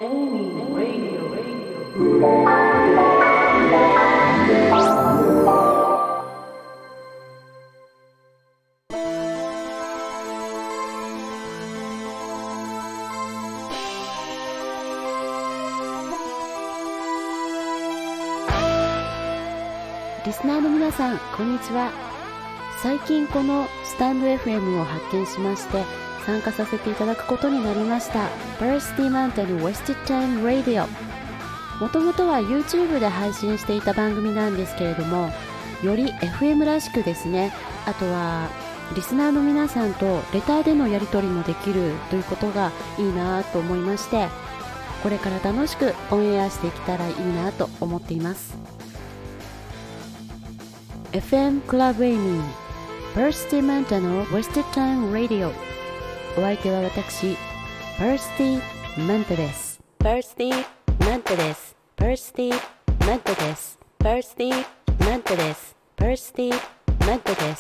Amy Radio. リスナーの皆さん、こんにちは。最近このスタンド FM を発見しまして参加させていただくことになりました Varsity Mountain Wasted Time Radio。 もともとは YouTube で配信していた番組なんですけれども、より FM らしくですね、あとはリスナーの皆さんとレターでのやり取りもできるということがいいなと思いまして、これから楽しくオンエアしていけたらいいなと思っています。 FM クラブエイミーVarsity Mountain Wasted Time Radio。 お相手は私 Varsity Manta です。 Varsity Manta です。 Varsity Manta です。 Varsity Manta です。 Varsity Manta です。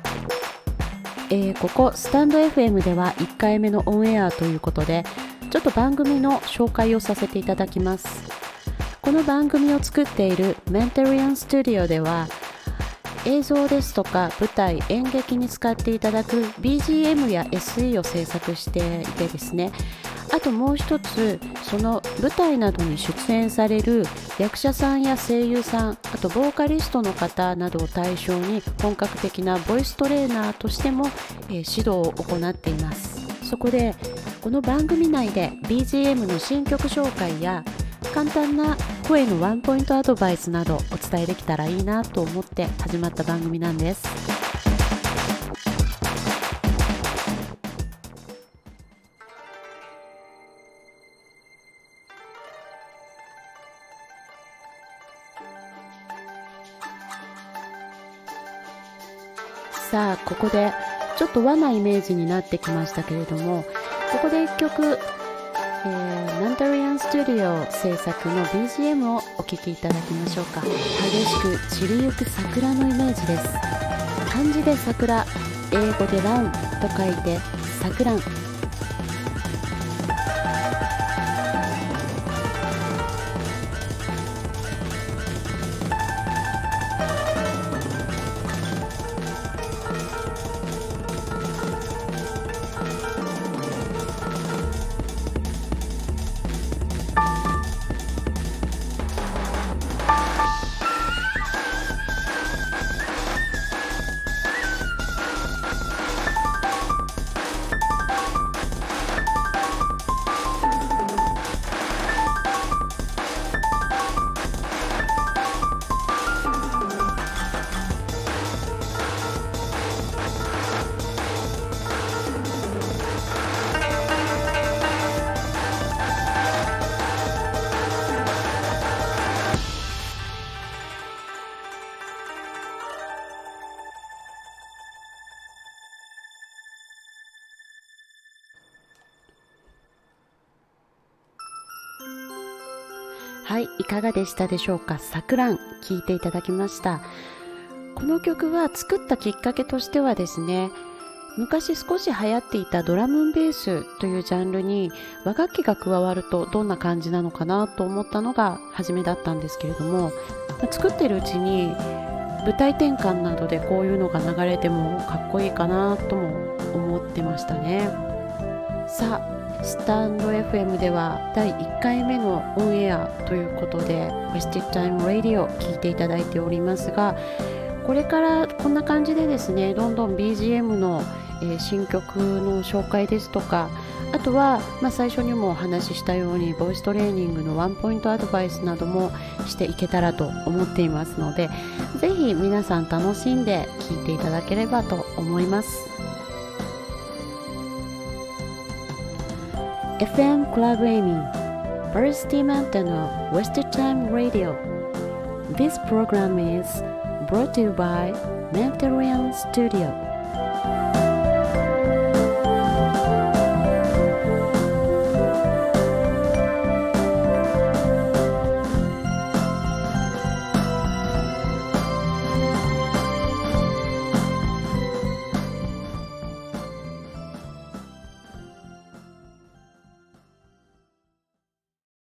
ここスタンド FM では1回目のオンエアということで、ちょっと番組の紹介をさせていただきます。この番組を作っているメンタリアンスタジオでは、映像ですとか舞台、演劇に使っていただく BGM や SE を制作していてですね、あともう一つ、その舞台などに出演される役者さんや声優さん、あとボーカリストの方などを対象に本格的なボイストレーナーとしても、指導を行っています。そこでこの番組内で BGM の新曲紹介や簡単な声のワンポイントアドバイスなどお伝えできたらいいなと思って始まった番組なんです。さあ、ここでちょっと和なイメージになってきましたけれども、ここで一曲マンタリアンスタジオ制作の BGM をお聴きいただきましょうか。激しく散りゆく桜のイメージです。漢字で桜、英語でランと書いて桜ん。はい、いかがでしたでしょうか。さくらん聴いていただきました。この曲は作ったきっかけとしてはですね、昔少し流行っていたドラムンベースというジャンルに和楽器が加わるとどんな感じなのかなと思ったのが初めだったんですけれども、作っているうちに舞台転換などでこういうのが流れてもかっこいいかなとも思ってましたね。さあ、スタンド FM では第1回目のオンエアということで Wasted Time Radio を聞いていただいておりますが、これからこんな感じでですね、どんどん BGM の、新曲の紹介ですとか、あとは、最初にもお話ししたようにボイストレーニングのワンポイントアドバイスなどもしていけたらと思っていますので、ぜひ皆さん楽しんで聞いていただければと思います。FM Club Amy Varsity Mountain Wasted Time Radio. This program is brought to you by Mentarian Studio.